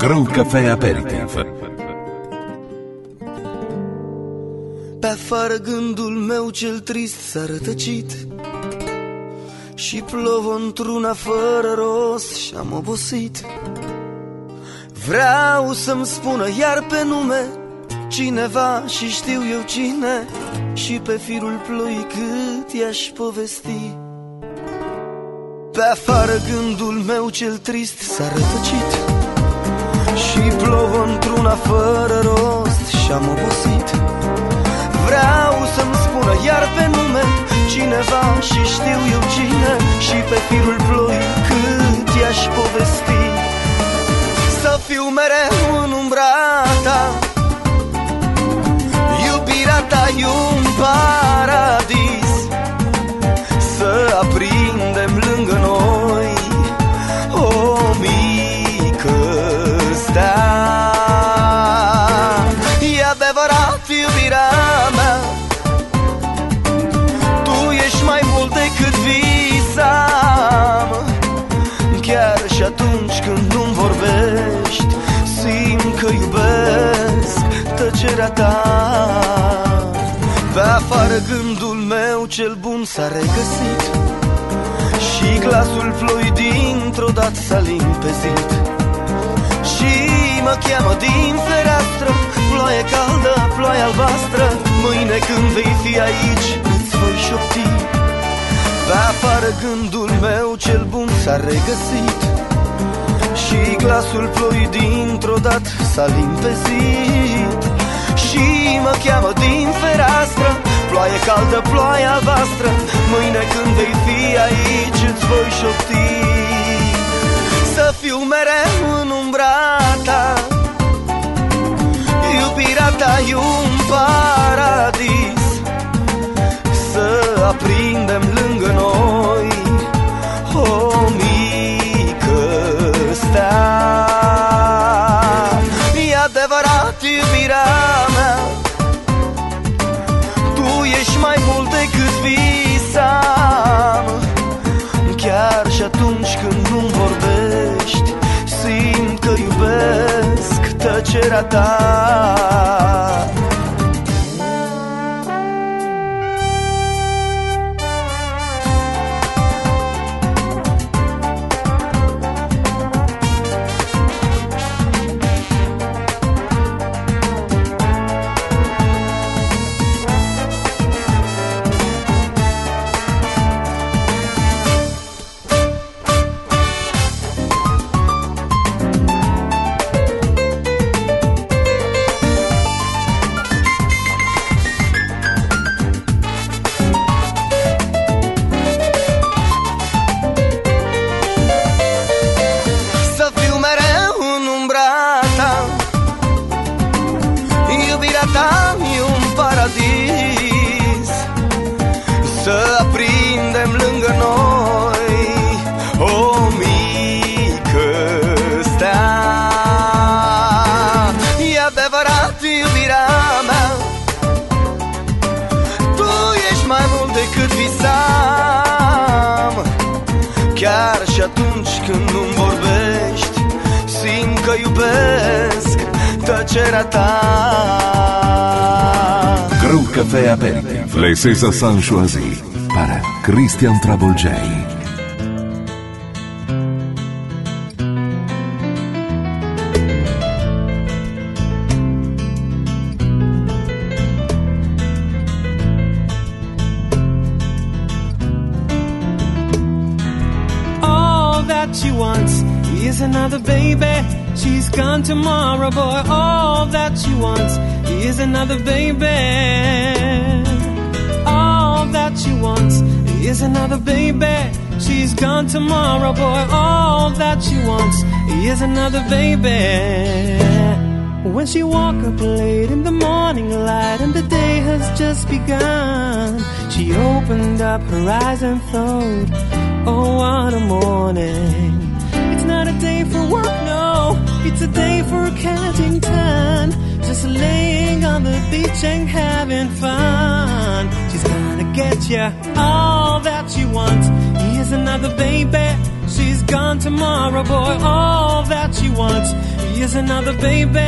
Grow Café Aperitif. Pe afară gândul meu cel trist s-a rătăcit și plouă într-una fără rost și-am obosit. Vreau să-mi spună iar pe nume cineva și știu eu cine, și pe firul ploii cât i-aș povesti. Pe afară gândul meu cel trist s-a rătăcit și plouă într-una fără rost și-am obosit. Vreau să-mi spună iar pe nume cineva și știu eu cine, și pe firul ploii cât i-aș povesti. Să fiu mereu în umbra ta, iubirea ta e un paradis, să aprindem lângă noi o mică stea. E adevărat, iubirea mea, tu ești mai mult decât visam. Chiar și atunci când nu-mi vorbești, simt că iubesc tăcerea ta. Pe afară gândul meu cel bun s-a regăsit și glasul ploii dintr-o dată s-a limpezit. Și mă cheamă din fereastră, ploaie caldă, ploaie albastră, mâine când vei fi aici îți voi șopti. Pe afară gândul meu cel bun s-a regăsit și glasul ploii dintr-o dată s-a limpezit. Și mă cheamă din fereastră, ploaie caldă, ploaie albastră, mâine când vei fi aici îți voi șopti. Să fiu mereu în umbra ta, iubirea ta e un paradis, să aprindem lângă noi o mică stea. E adevărat, iubirea mea, tu ești mai mult decât visam. Chiar și atunci când nu-mi vorbești, simt că iubesc tăcerea ta. Să aprindem lângă noi o mică stea. E adevărat, iubirea mea, tu ești mai mult decât visam. Chiar și atunci când nu-mi vorbești, simt că iubesc tăcerea ta. Grow Café Aperitif. Les César Sanchoisi para Christian Travolgei. All that she wants is another baby. She's gone tomorrow, boy. All that she wants is another baby. All that she wants is another baby. She's gone tomorrow, boy. All that she wants is another baby. When she woke up late in the morning light and the day has just begun, she opened up her eyes and thought, oh, what a morning. It's not a day for work, no, it's a day for catching tan. Just laying on the beach and having fun. She's gonna get ya. All that she wants is another baby. she's gone tomorrow, boy. All that she wants is another baby.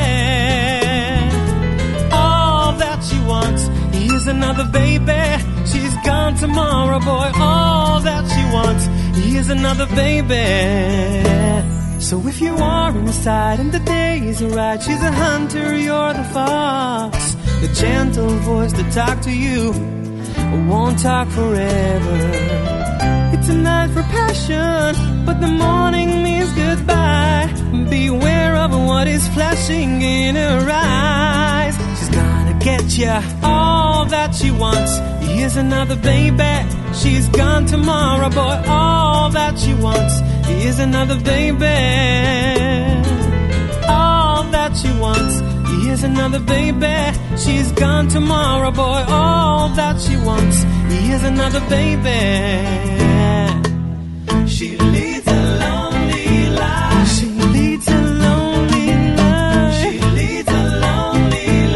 All that she wants is another baby. She's gone tomorrow, boy. All that she wants is another baby. So if you are inside and the day is right, she's a hunter, you're the fox. The gentle voice that talk to you won't talk forever. It's a night for passion, but the morning means goodbye. Beware of what is flashing in her eyes. She's gonna get ya. All that she wants is another baby. She's gone tomorrow, boy. All that she wants is another baby. All that she wants is another baby. She's gone tomorrow, boy. All that she wants is another baby. She leads a lonely life. She leads a lonely life. She leads a lonely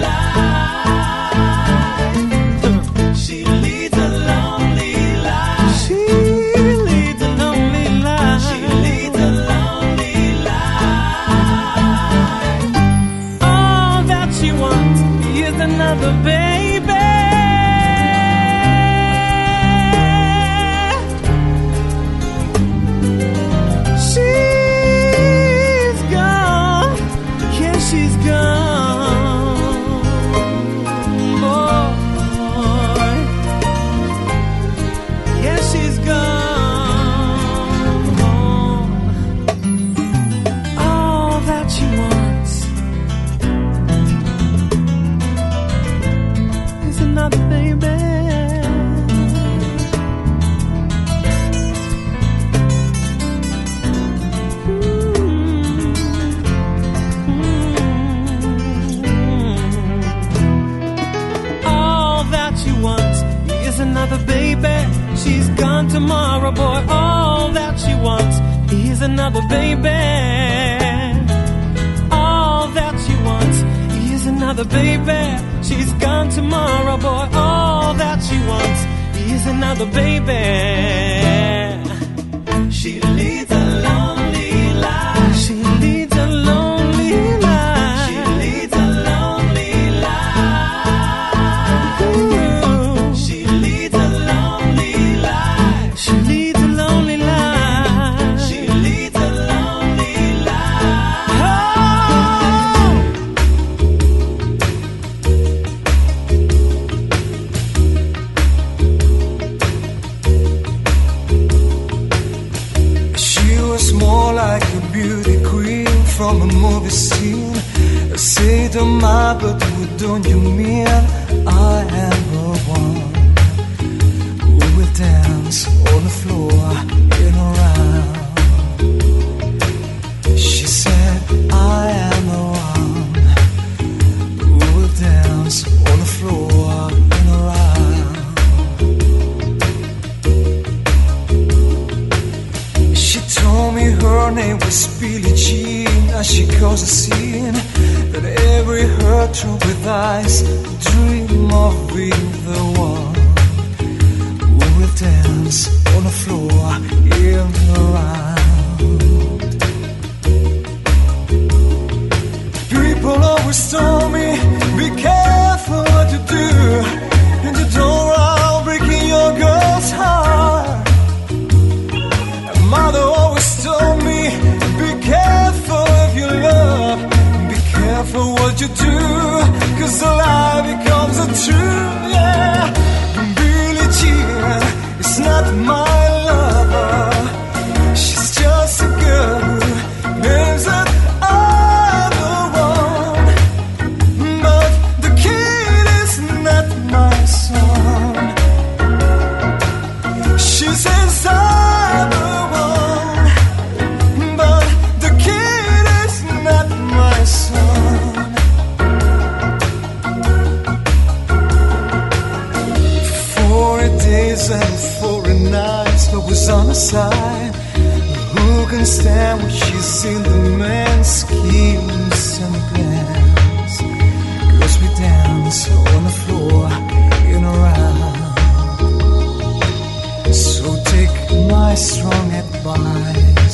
life. She leads a lonely life. She leads a lonely life. She leads a lonely life. All that she wants is another baby. She's gone tomorrow, boy. All that she wants is another baby. All that she wants is another baby. She's gone tomorrow, boy. All that she wants is another baby. She leads a lonely life. She leads a lonely life. She leads a lonely life. Ooh. She leads a lonely life. She leads a lonely life. She leads a lonely life. She was more like a beauty queen from a movie scene. Say to my, but what don't you mean? I am the one who will dance on the floor in a round. She said, I am the one who will dance on the floor in a round. She told me her name was Billie Jean. As she caused a scene that every hurt through with eyes dream of being the one who will dance on the floor in the round. People always told me, be careful what you do, and you don't run breaking your girl's heart. Mother always told me, be careful if you love, be careful what you do, cause the lie becomes a truth, yeah. Billie Jean is not my lover, she's just a girl who names that I'm the one, but the kid is not my son. She says I'm the and 4 nights, but was on her side. Who can stand when she's seen the man's schemes and plans? Cause we dance on the floor in a round. So take my strong advice,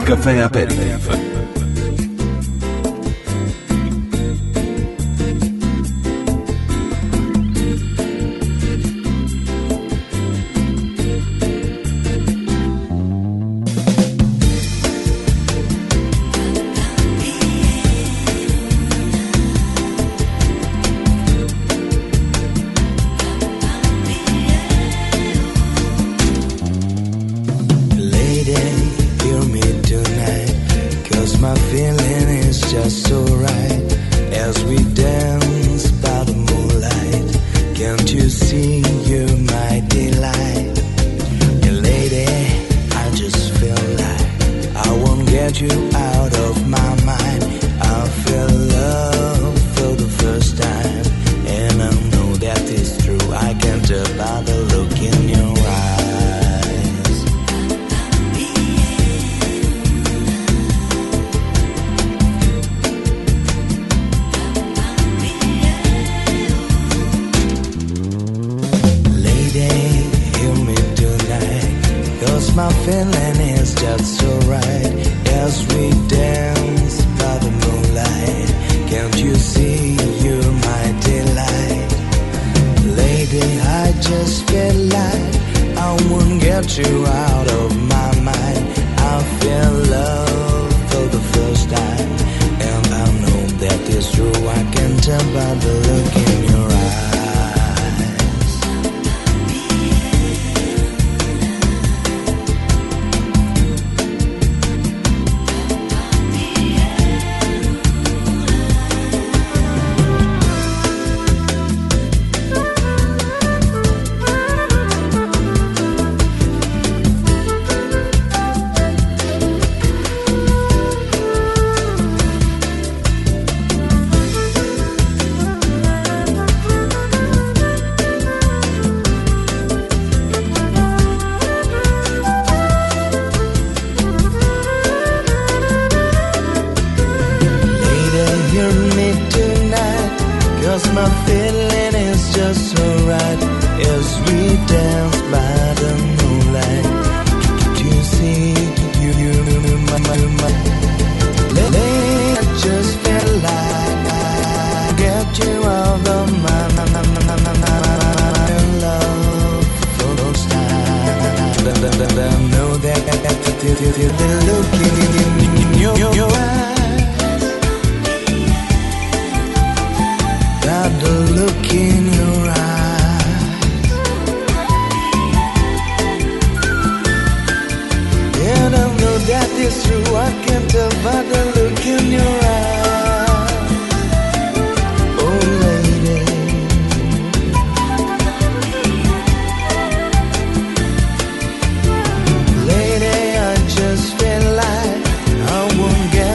Caffè Aperitif.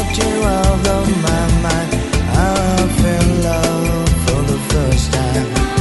Time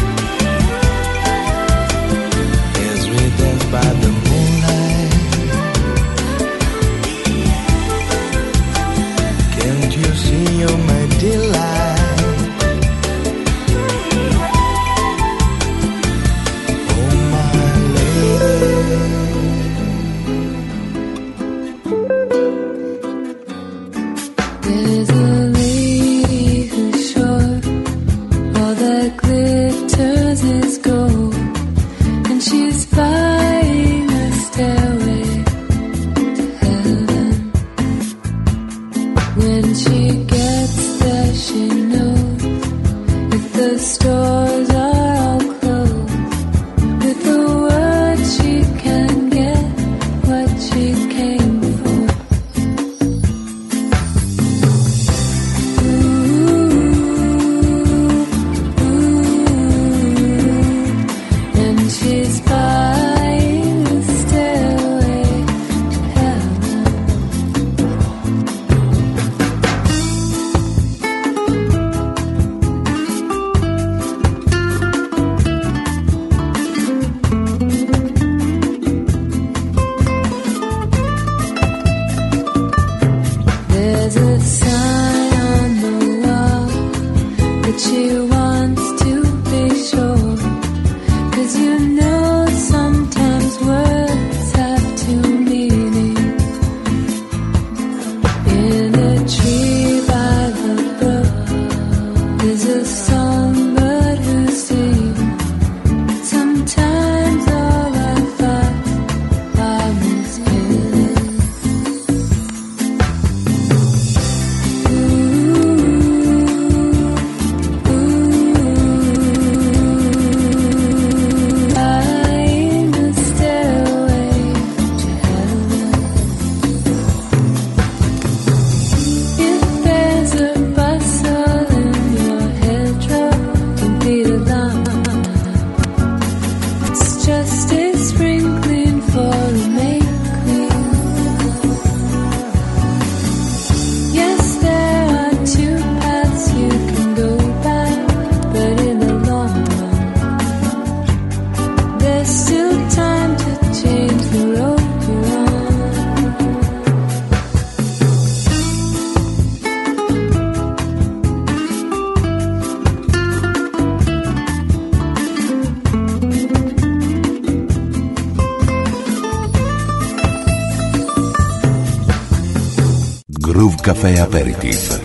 Groove Café Aperitif.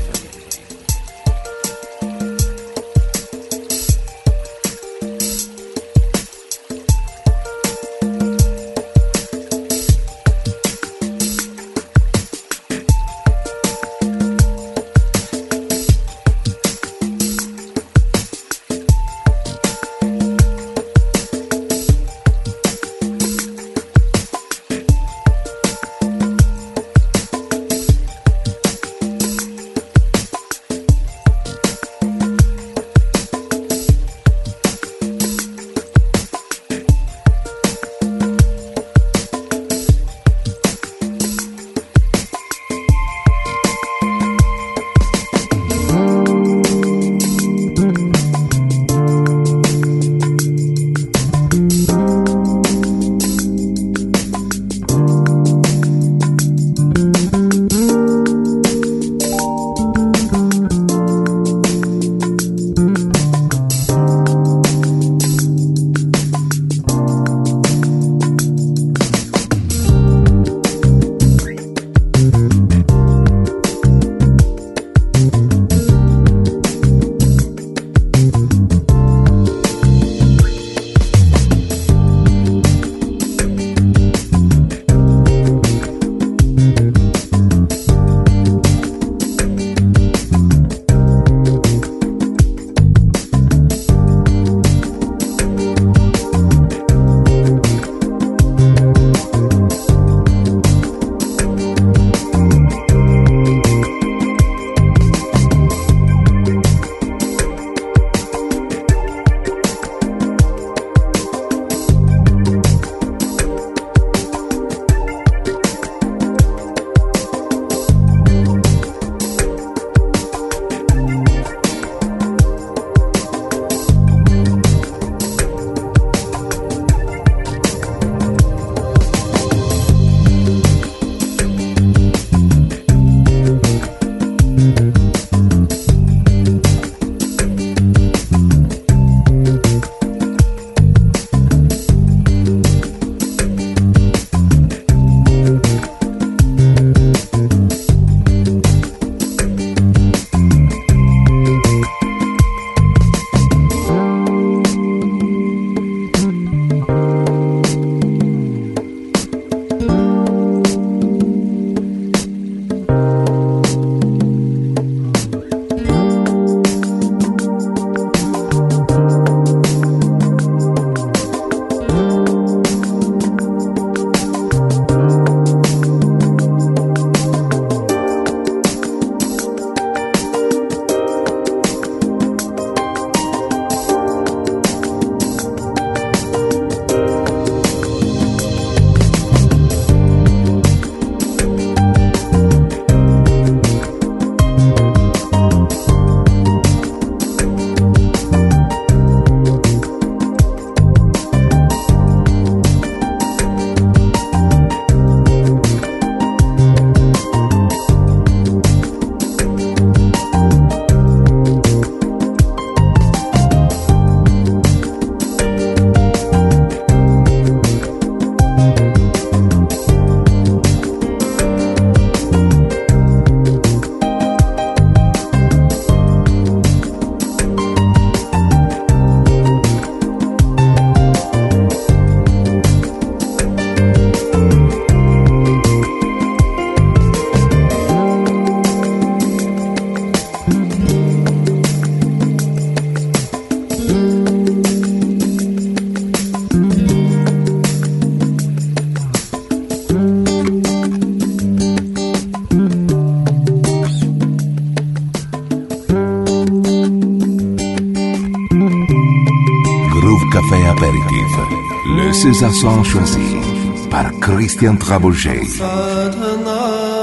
Café Apéritif. Le César Son choisi par Christian Trabouget. Sadhana,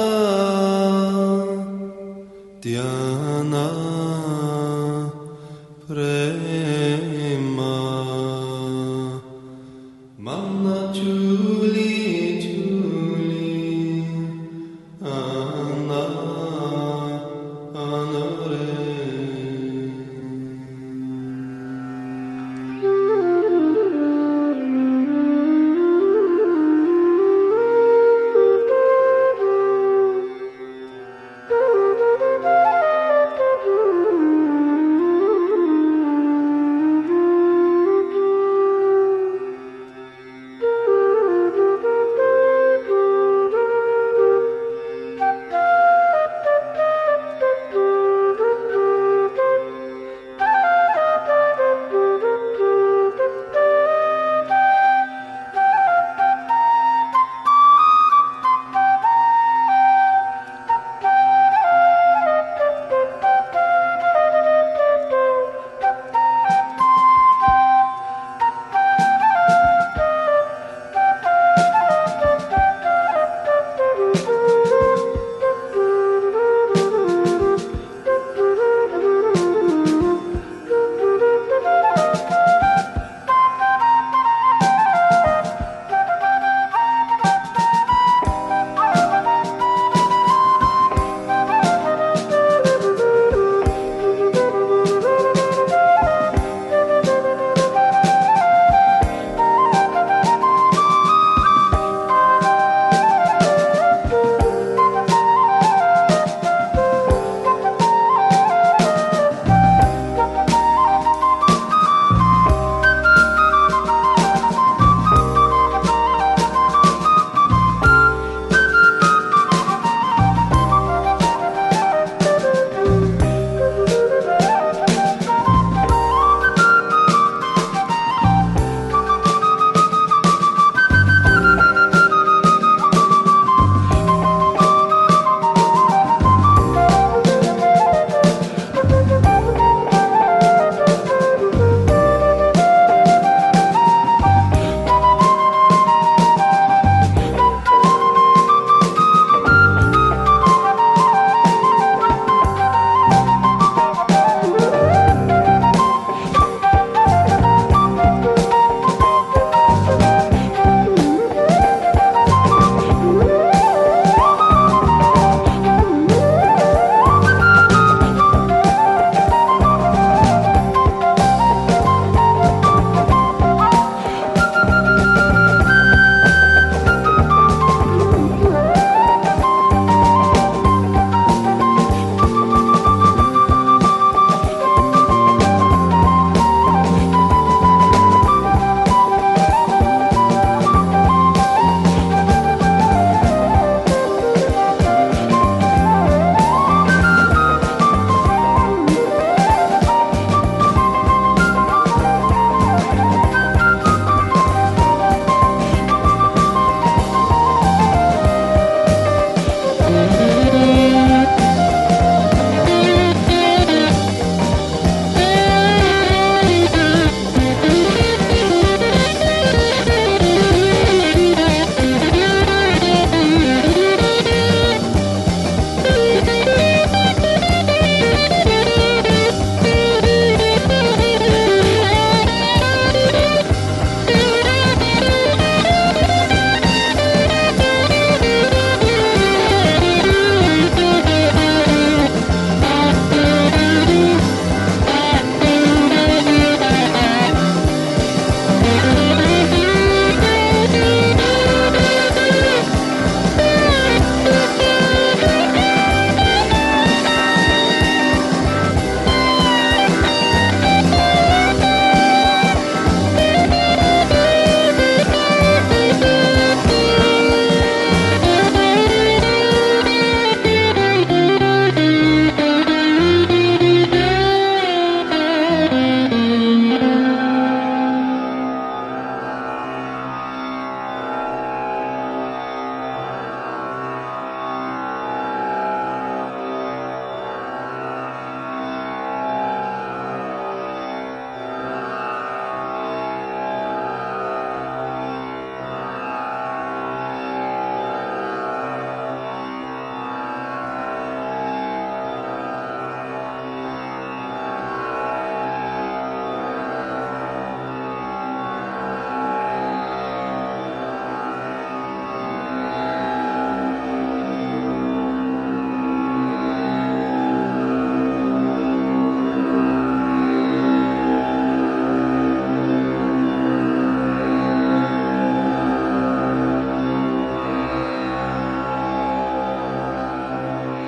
Dhyana, Prema, Mana Juli, Juli, Anna, Anore.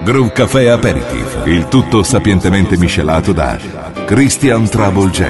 Groove Café Aperitif, il tutto sapientemente miscelato da Christian Trouble J.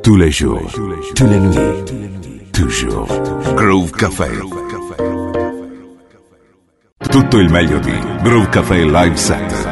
tous les jours, tous les nuits, toujours. Groove Café. Tutto il meglio di Groove Café Live Set.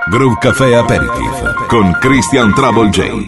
Groove Café Aperitif con Christian Trouble J.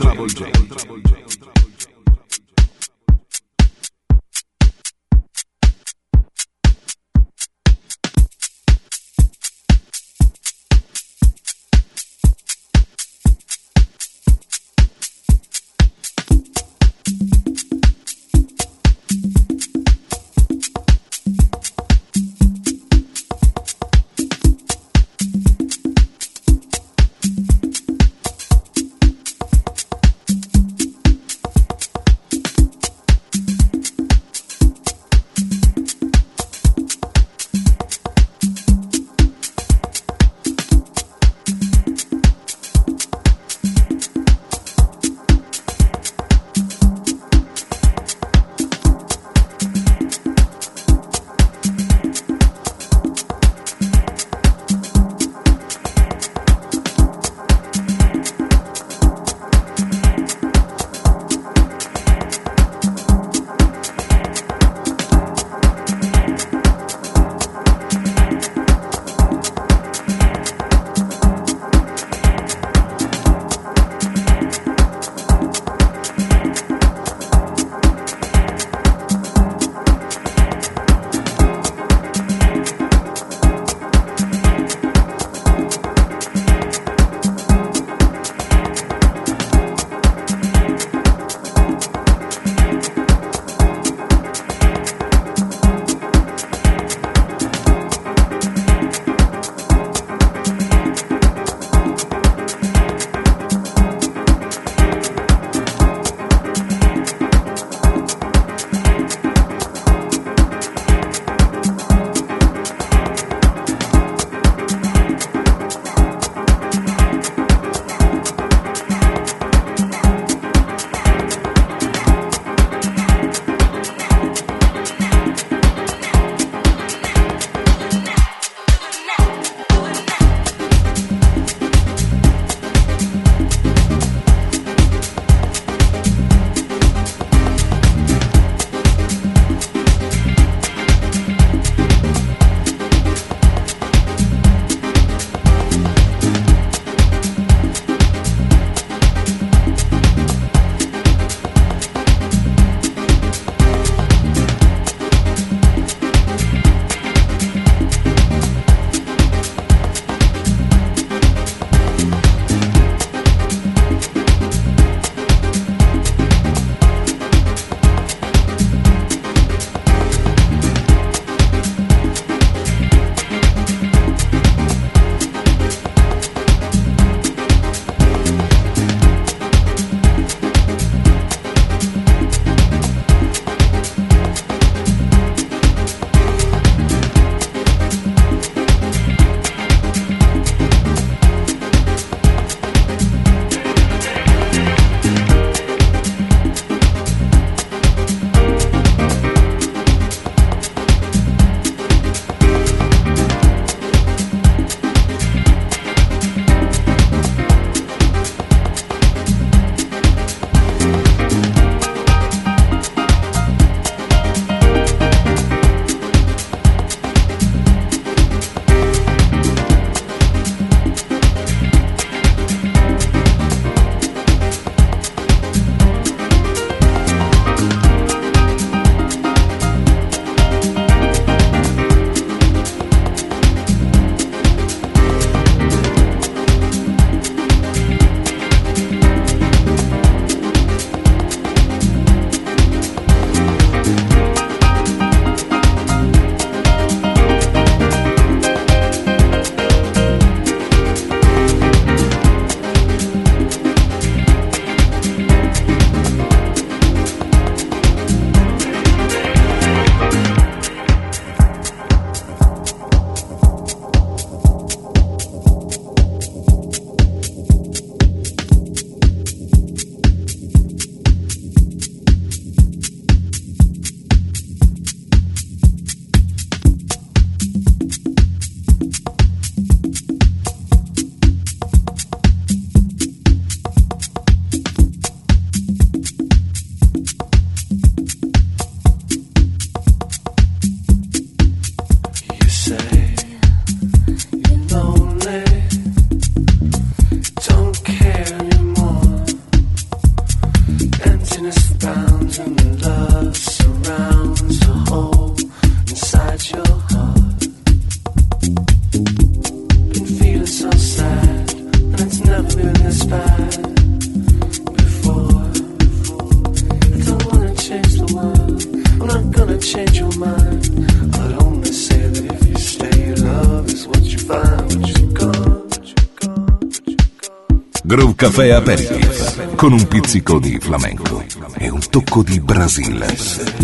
Groove Café Aperitif con un pizzico di flamenco e un tocco di Brasile.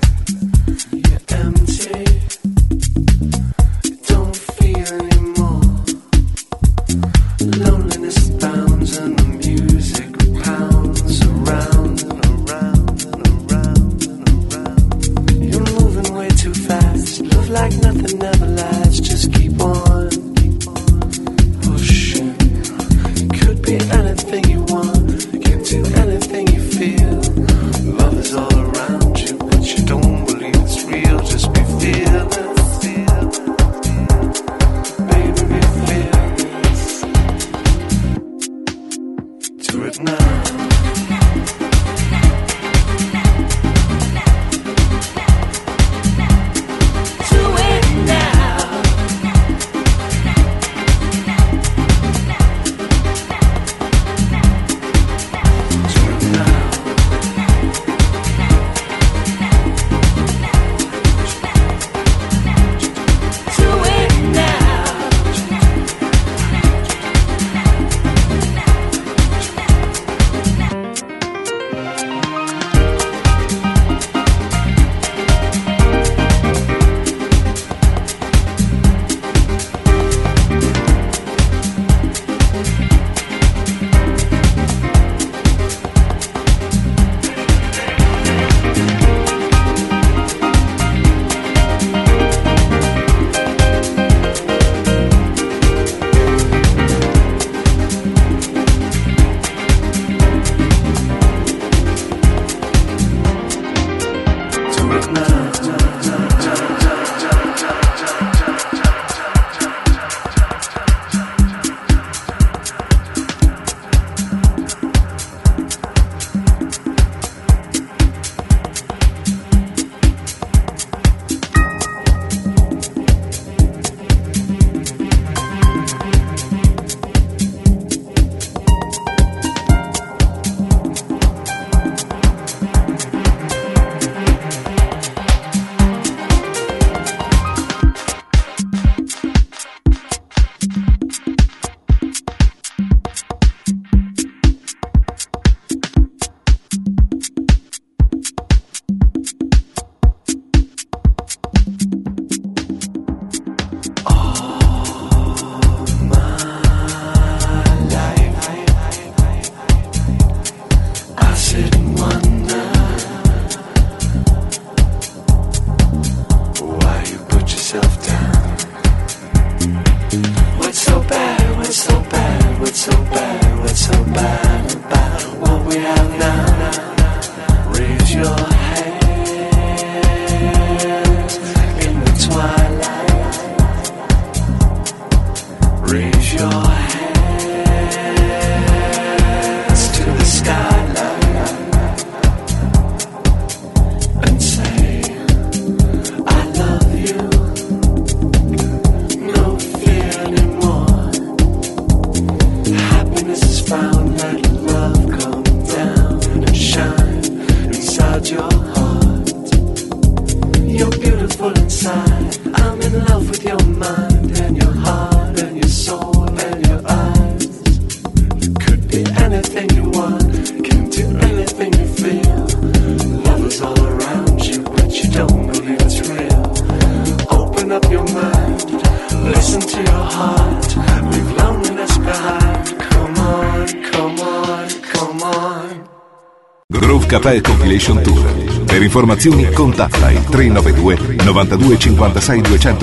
Café Compilation Tour. Per informazioni contatta il 392 92 56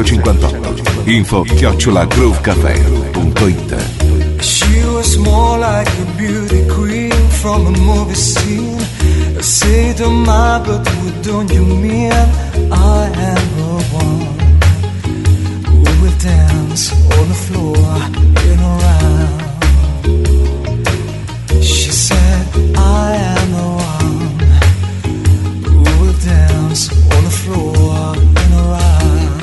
258. info@groovecafé.it. She was more like a beauty queen from a movie scene. Say to my, but what don't you mean? I am the one who will dance on the floor in a round. She said, I am the one who will dance on the floor in a round.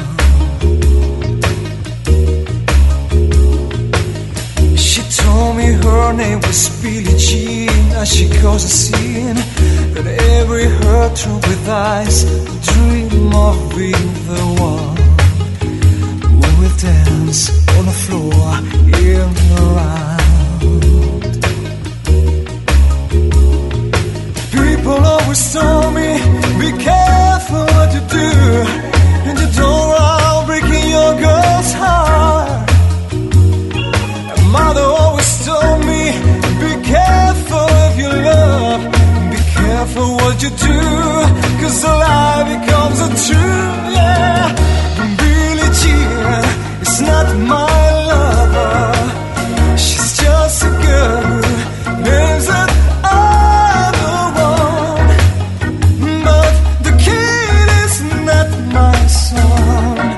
She told me her name was Billie Jean. As she caused a scene that every hurt through with eyes dream of being the one who will dance on the floor in around. People always told me, be careful what you do, and you don't run breaking your girl's heart. And mother always told me, be careful if you love, be careful what you do, 'cause the lie becomes a truth, yeah. Billie Jean is not my lover, she's just a girl who lives at other one. But the kid is not my son,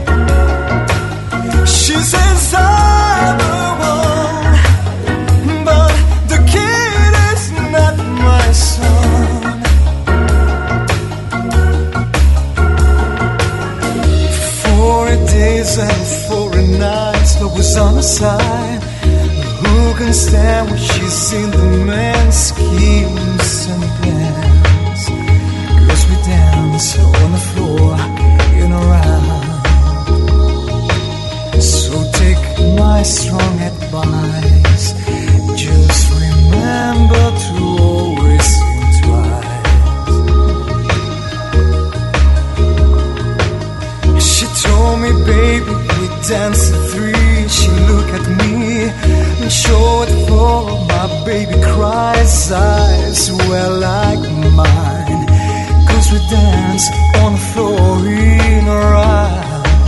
she says I'm the one, but the kid is not my son. 40 days and 40 nights, but was on the side. Who can stand when she's seen the man's schemes and plans? 'Cause we dance on the floor in around. So take my strong advice, just remember to always think twice. She told me, baby, we dance at 3. She looked at me and showed for my baby cries. Eyes were like mine, 'cause we dance on the floor in around.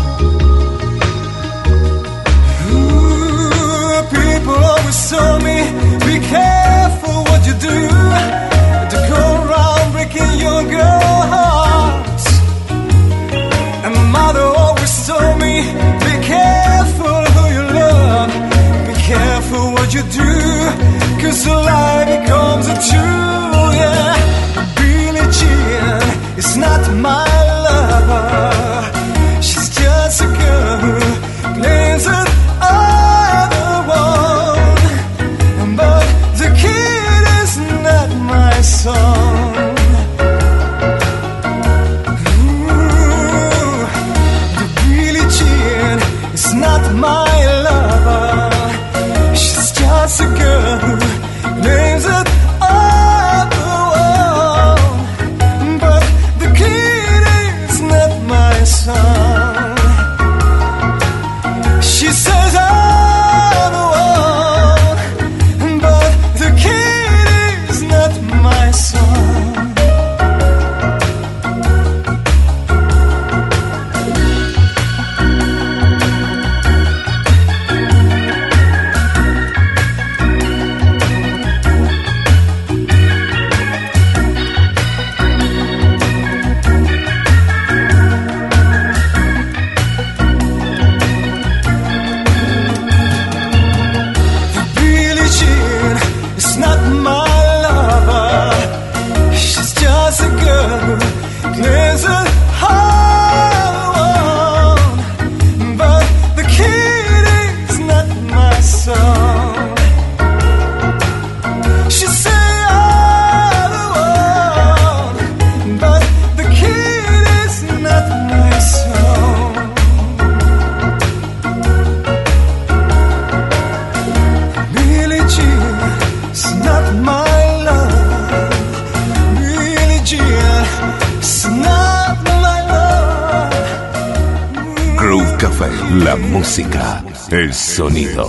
People always told me, be careful what you do, to go around breaking your girl hearts. And mother always told me, be careful who you love, be careful what you do, 'cause the lie becomes a truth, yeah. Billie Jean is not my lover, she's just a girl who plays it other one. But the kid is not my son. Ooh, the Billie Jean is not my lover, she's just a girl who names it other one. But the kid is not my son. She says I'm the one, but the kid is not my son. Billie Jean is not my lover, she's just a girl who plays it hard. But the kid is not my son. She say I'm the one, but the kid is not my son. Billie Jean is not my love, Billie Jean is not my love. Groove Café, la música, el sonido.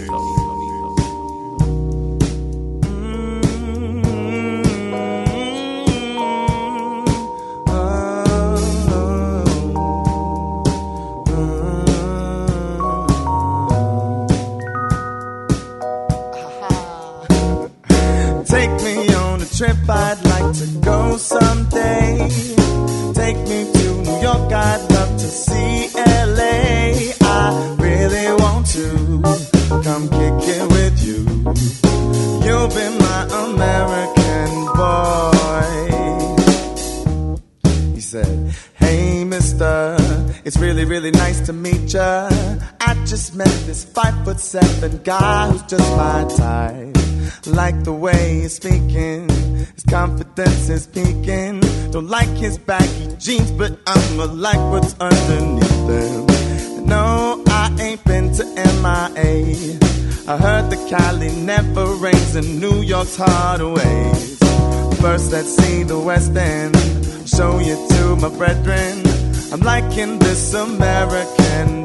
Take me on a trip, I'd like to go someday. Take me to New York, I'd love to see LA. I really want to come kick it with you. You'll be my American boy. He said, hey mister, it's really, really nice to meet ya. I just met this 5'7" guy who's just my type. Like the way he's speaking, his confidence is peaking. Don't like his baggy jeans, but I'ma like what's underneath them. No, I ain't been to MIA. I heard that Cali never rains in New York's hideaways. First let's see the West End, show you to my brethren. I'm liking this American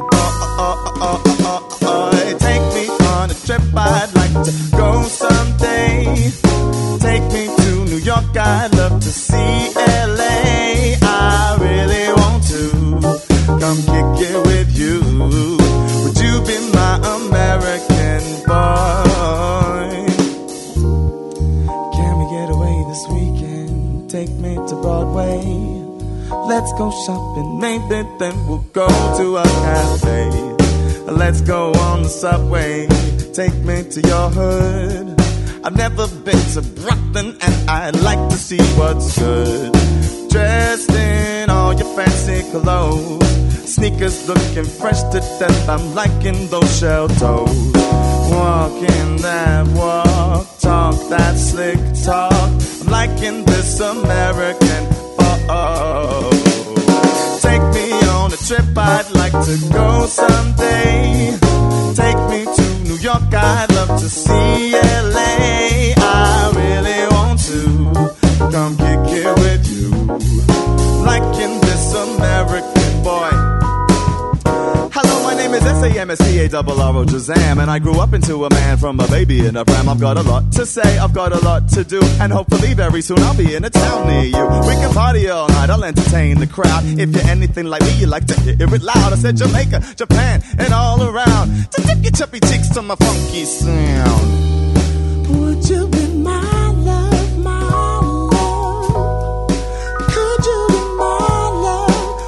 boy. Take me on a trip, I'd like to go someday. Take me to New York, I'd love to see LA. I really want to come kick it with you. Would you be my American boy? Can we get away this weekend? Take me to Broadway. Let's go shopping, maybe then we'll go to a cafe. Let's go on the subway, take me to your hood. I've never been to Brooklyn and I'd like to see what's good. Dressed in all your fancy clothes, sneakers looking fresh to death, I'm liking those shell toes. Walking that walk, talk that slick talk, I'm liking this American. Oh, take me on a trip, I'd like to go someday. Take me to New York, I'd love to see LA. I really want to come kick it with you, liking this American boy. Hello, my name is SAMSCARRO Shazam, and I grew up into a man from a baby in a pram. I've got a lot to say, I've got a lot to do, and hopefully very soon I'll be in a town near you. We can party all night, I'll entertain the crowd. If you're anything like me, you like to hear it loud. I said Jamaica, Japan, and all around, to dip your chubby cheeks to my funky sound. Would you be my love, my love? Could you be my love?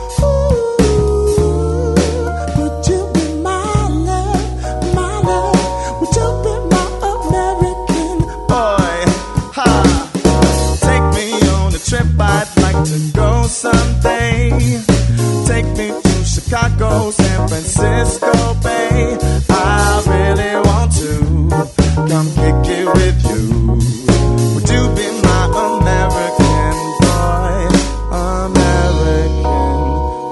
I'd like to go someday. Take me to Chicago, San Francisco Bay. I really want to come kick it with you. Would you be my American boy? American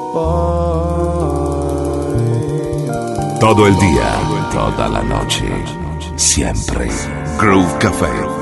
boy. Todo el día, toda la noche, siempre. Groove Café.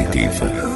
Aperitif.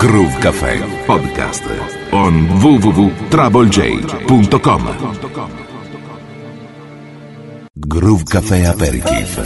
Groove Café Podcast on www.troublej.com. Groove Café Aperitif.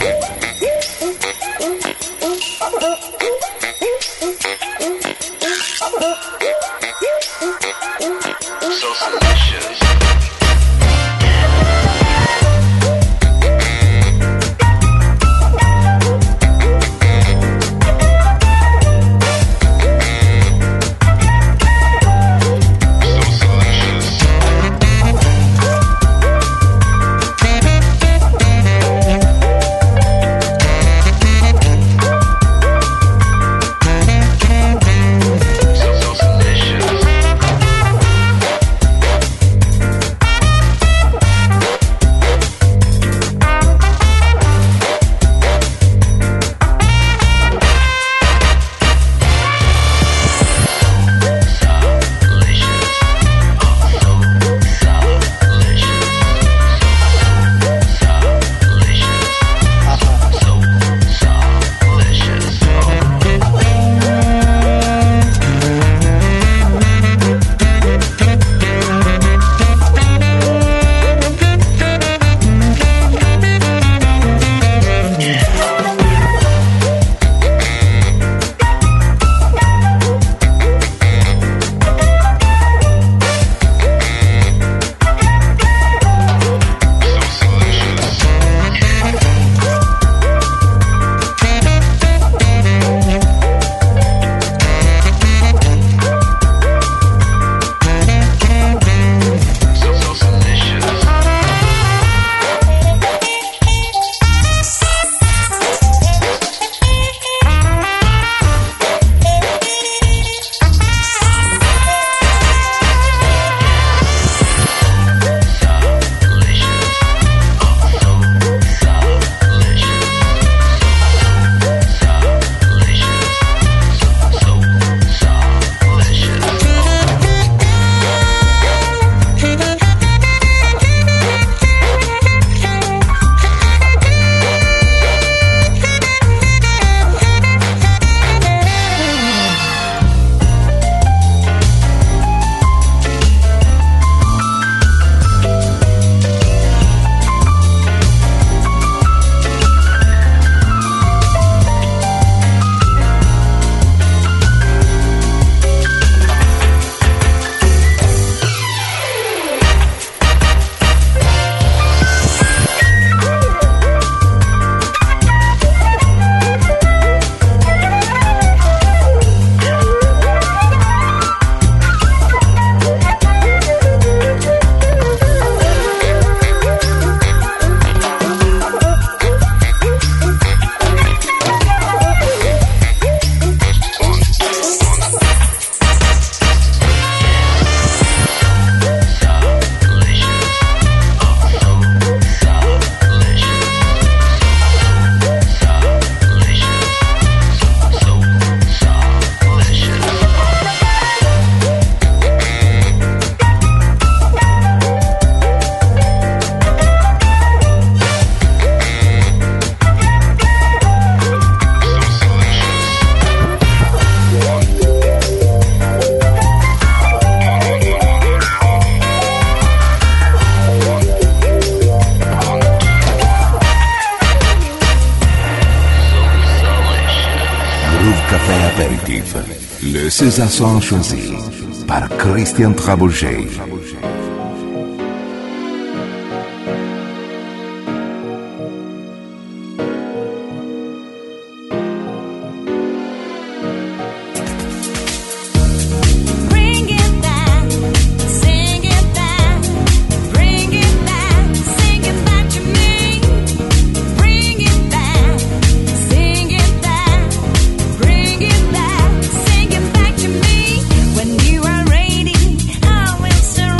Le César choisi par Christian Trouble-J. When you are ready, I will surrender.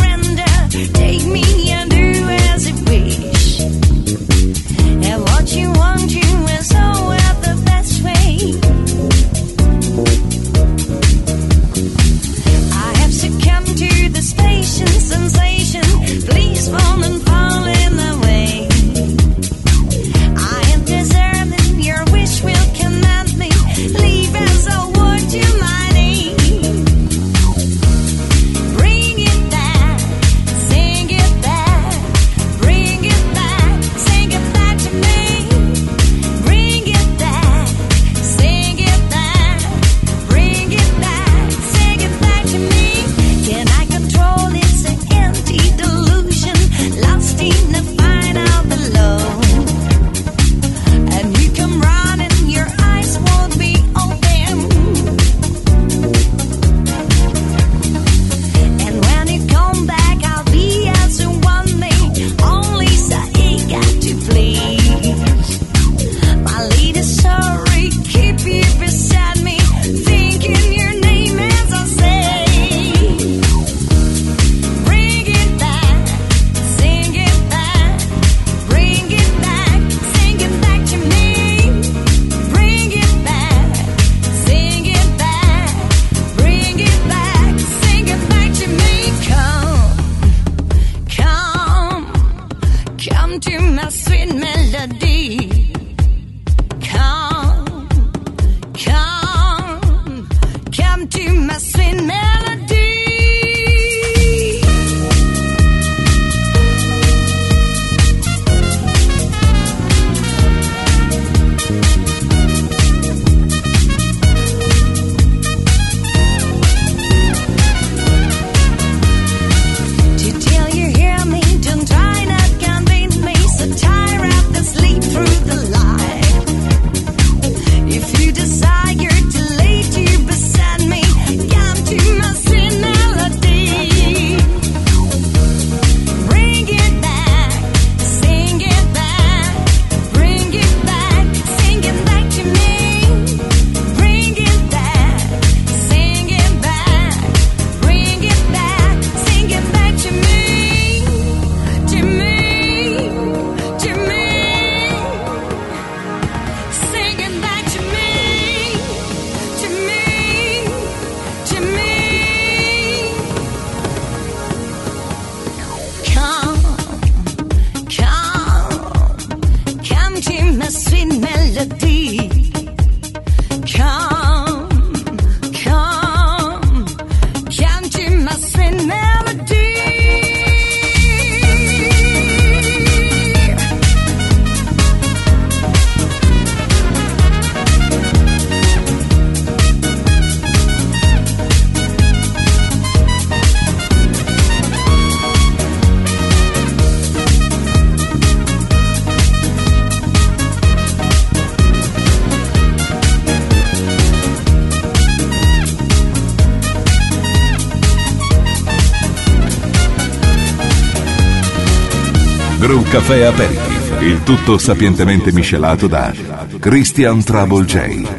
Groove Café Aperitif, il tutto sapientemente miscelato da Christian Trouble J.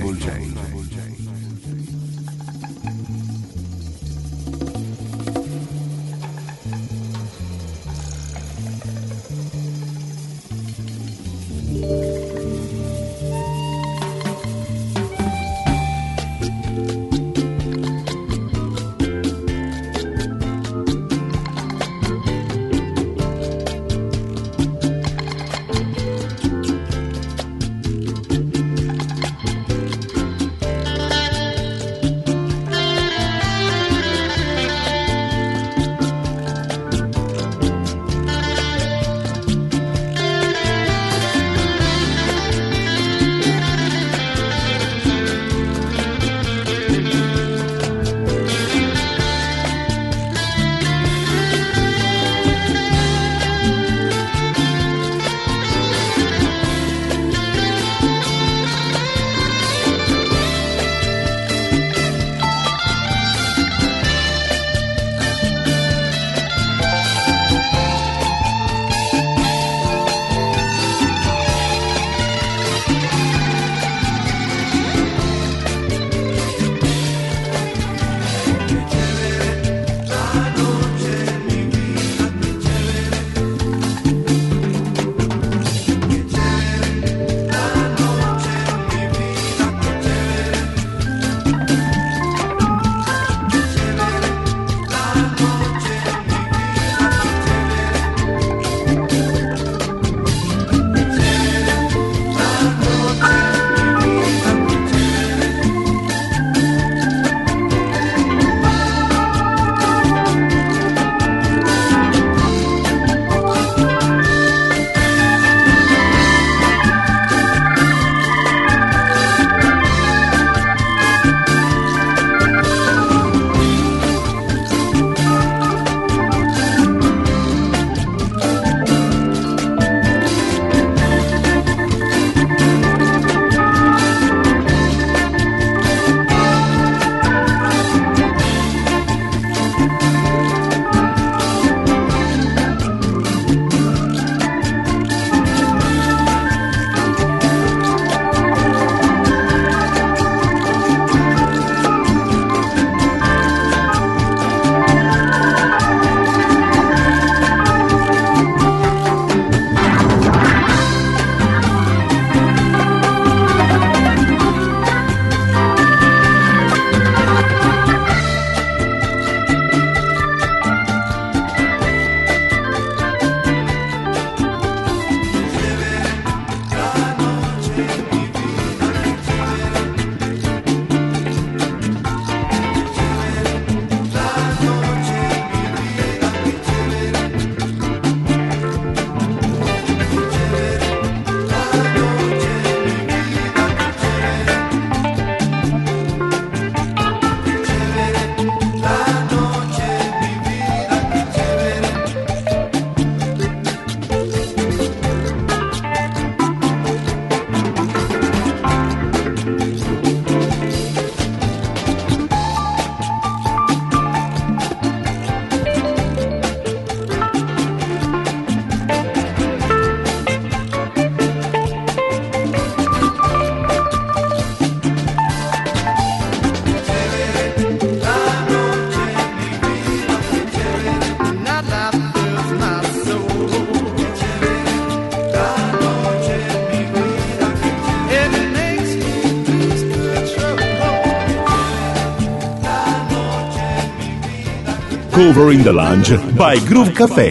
Cover in the Lounge by Groove Café.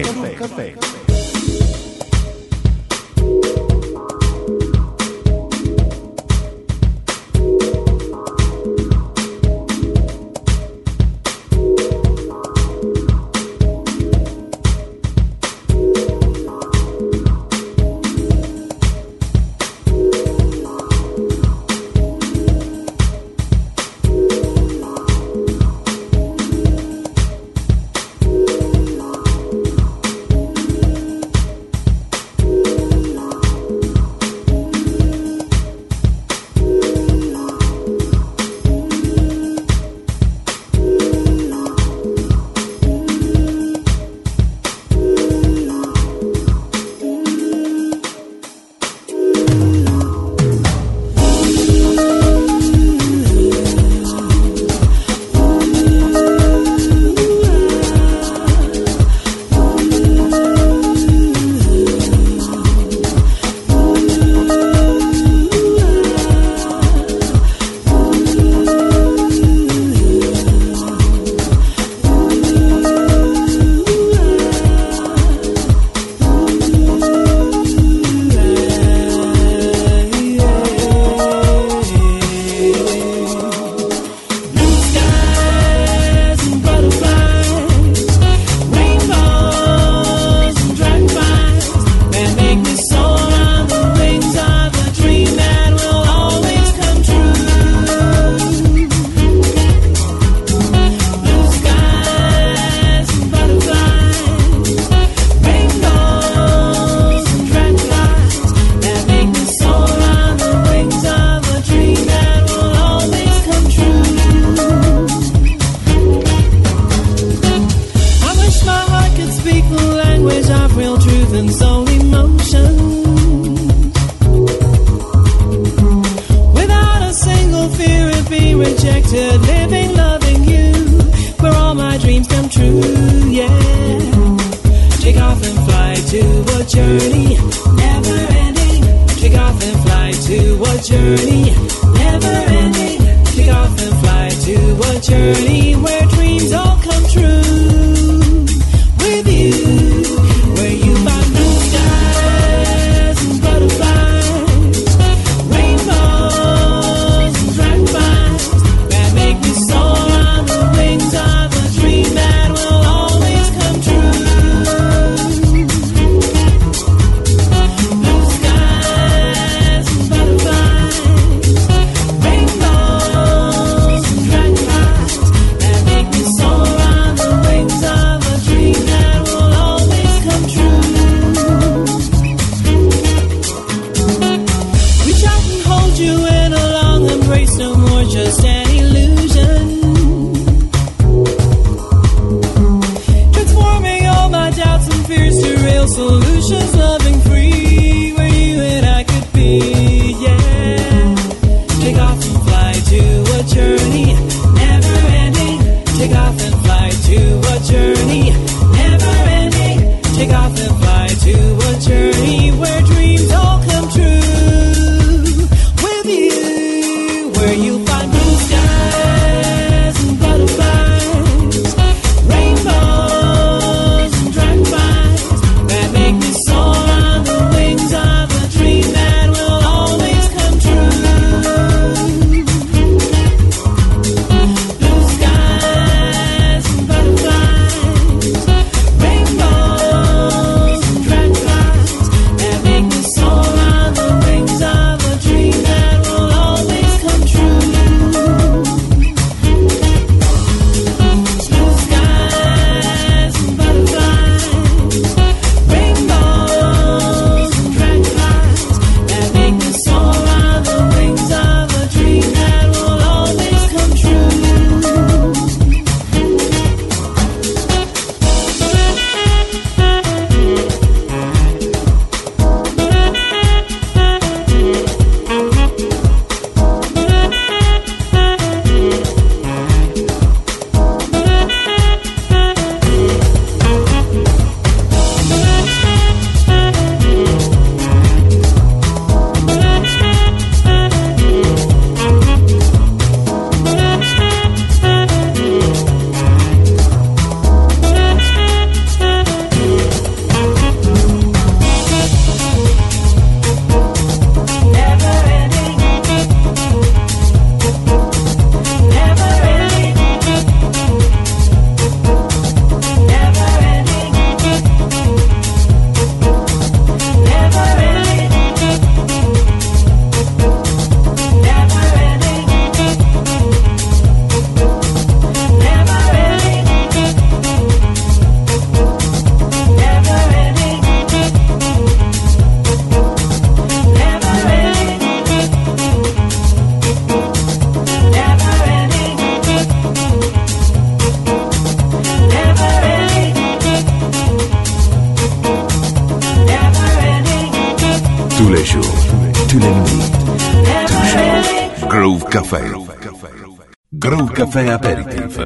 That tous les jours, tous les nuits, toujours. Groove Café. Groove Café Aperitif.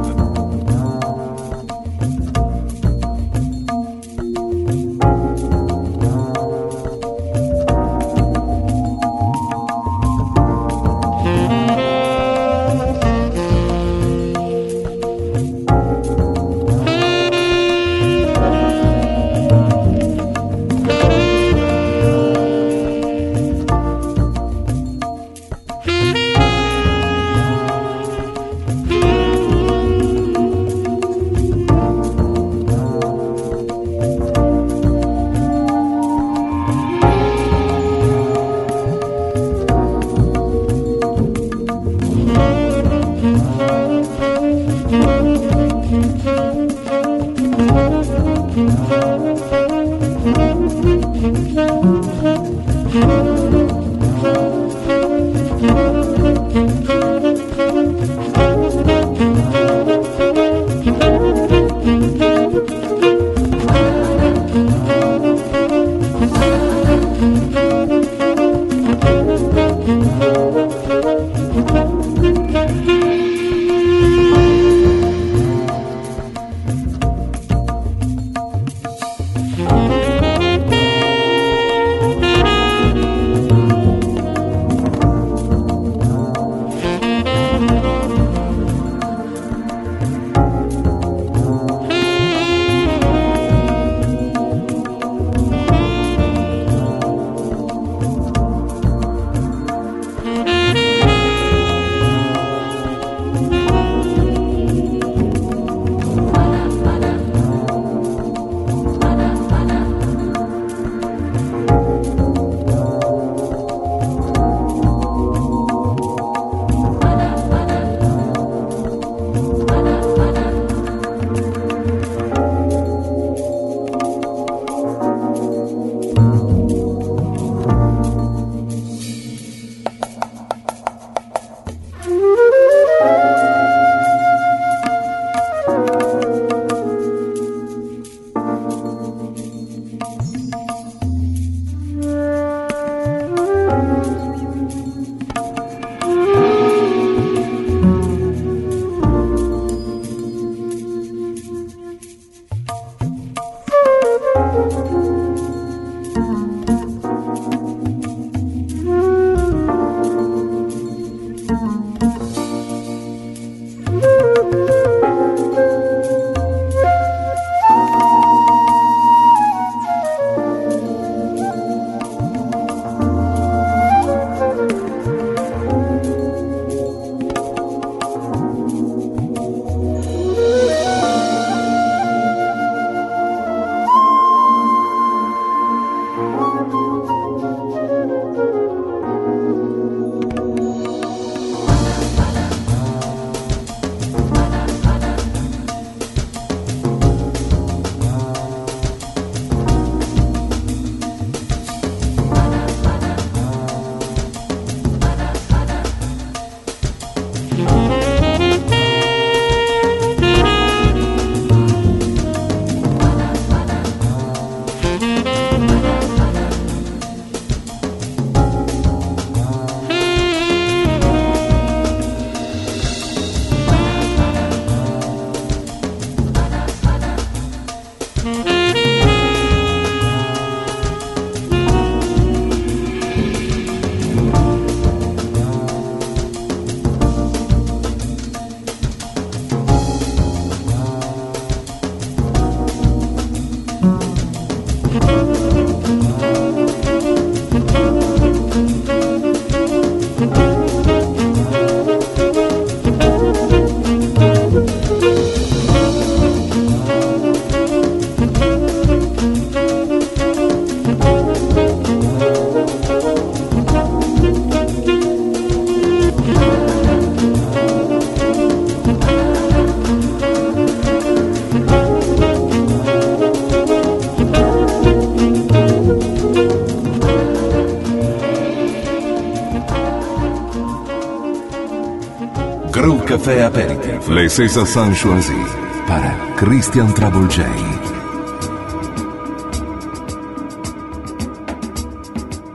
Groove Café Aperitif. Les sensations choisies par Christian Travolgei.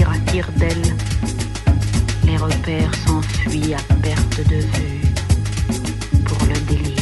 s'enfuir à tire-d'aile. Les repères s'enfuient à perte de vue pour le délire.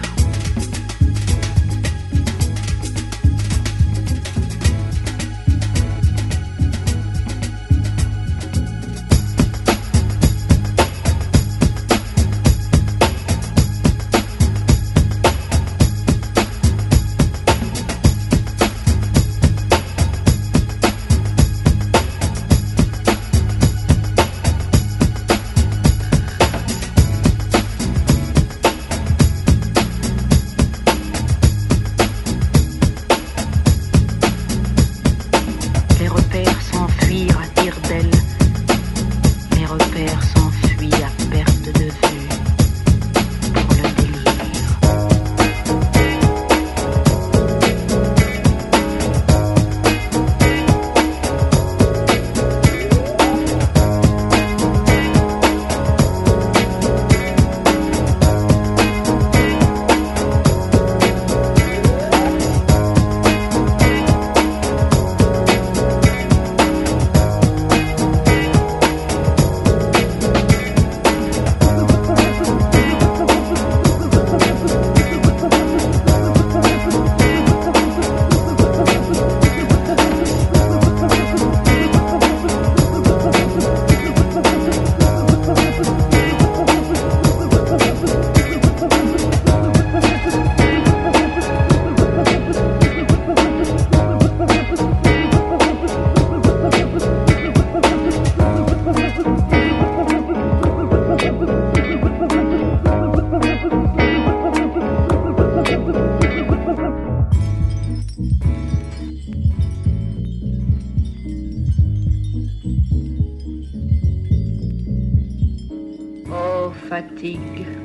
Fatigue,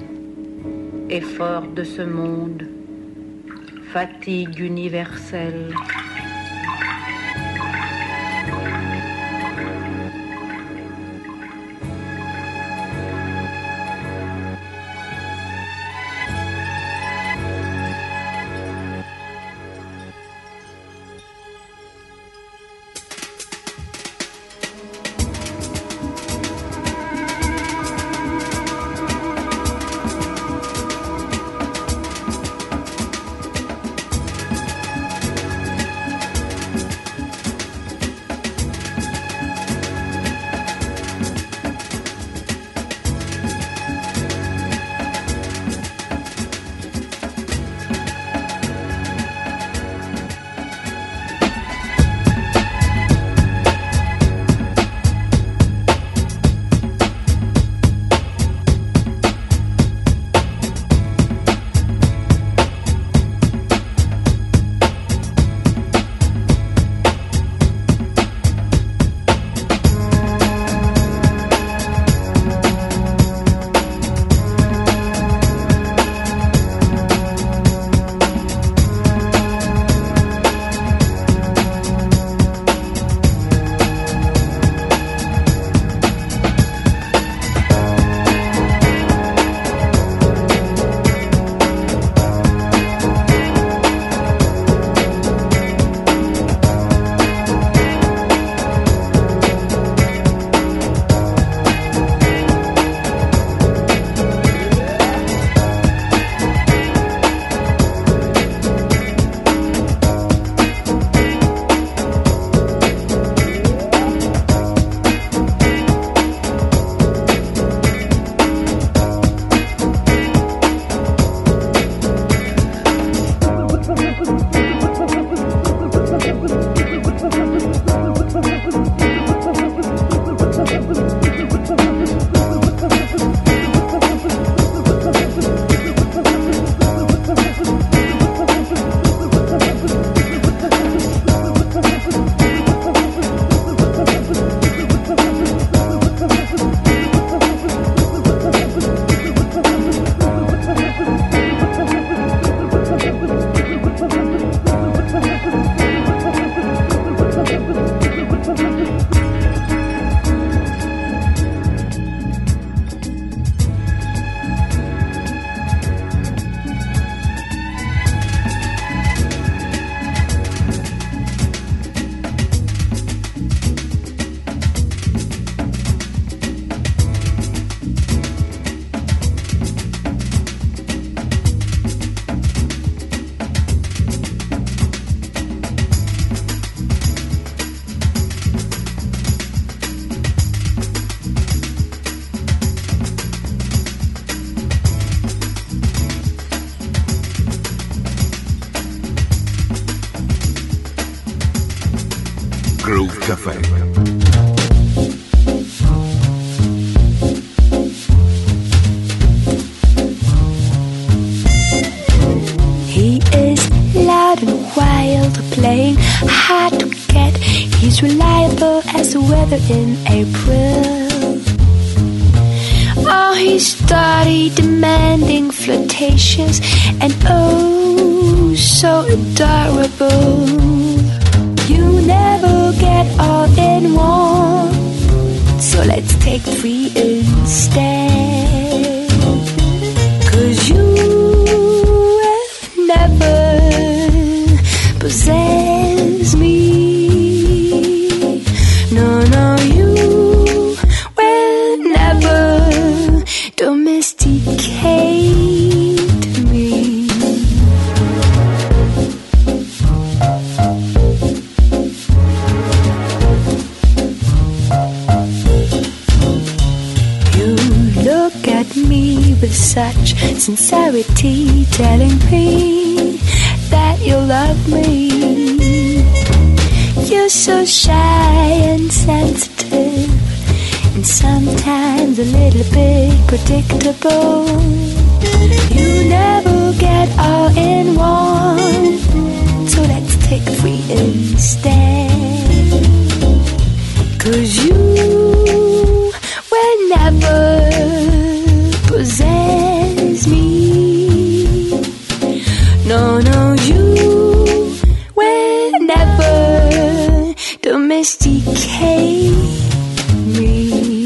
effort de ce monde, fatigue universelle. Café. He is loud and wild, playing hard to get. He's reliable as the weather in April. Oh, he's steady, demanding, flirtatious, and oh, so adorable. You never get all in one, so let's take three instead. 'Cause you will never possess me. No, no, you will never domesticate me. You look at me with such sincerity, telling me that you love me. You're so shy and sensitive, and sometimes a little bit predictable. You never get all in one, so let's take three instead. 'Cause you will never possess me. No, no, you will never domesticate me.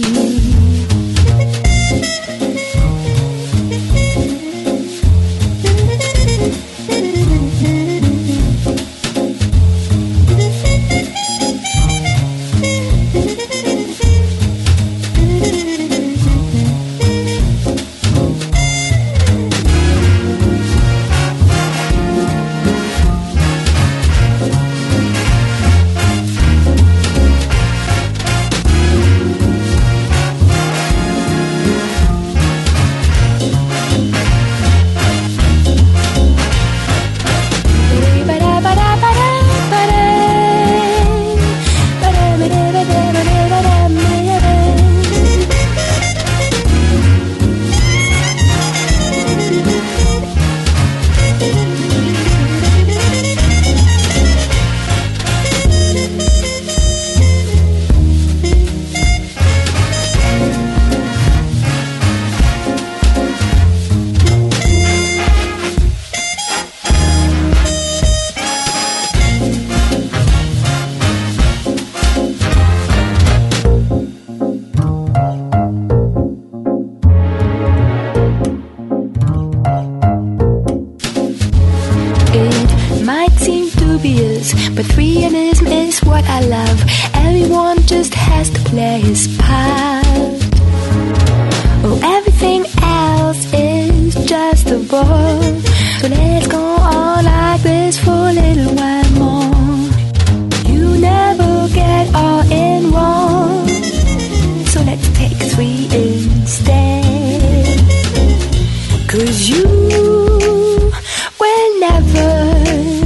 But freeism is what I love. Everyone just has to play his part. Oh, everything else is just a bore. So let's go on like this for a little while more. You never get all in one, so let's take three instead. 'Cause you will never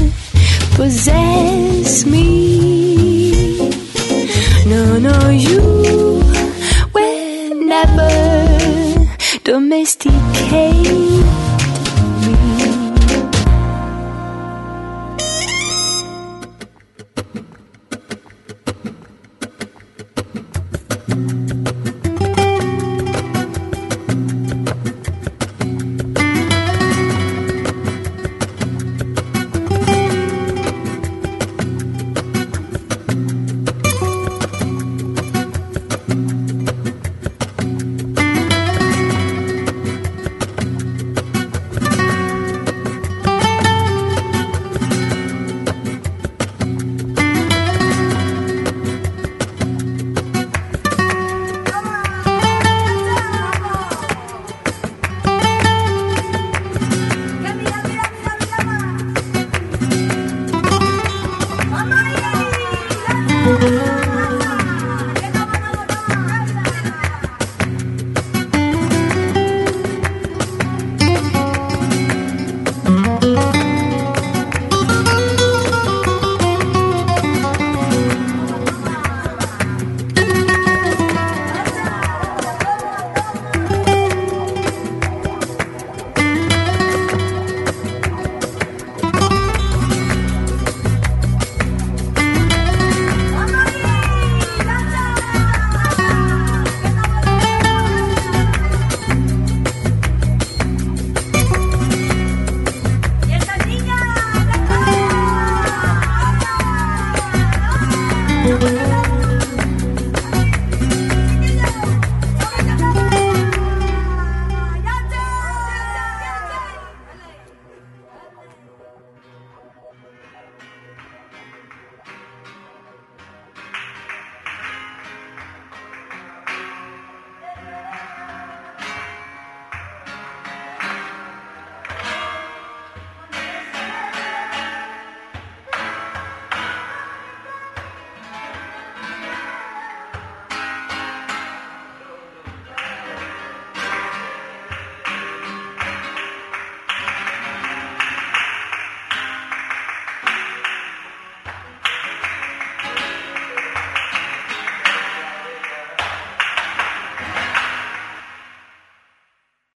possess me. No, no, you will never domesticate